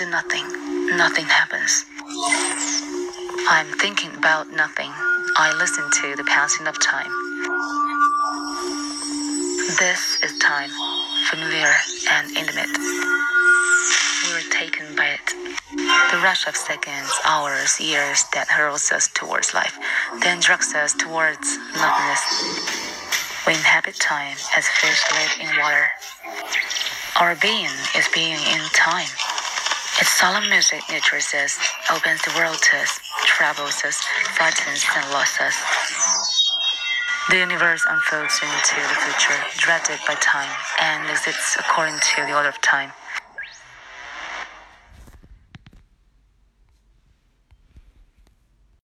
do nothing, nothing happens. I'm thinking about nothing. I listen to the passing of time. This is time, familiar and intimate. We are taken by it. The rush of seconds, hours, years that hurls us towards life, then drags us towards nothingness. We inhabit time as fish live in water. Our being is being in time. Its solemn music nurtures us, opens the world to us, travels us, frightens and lost us. The universe unfolds into the future, dreaded by time, and exists according to the order of time.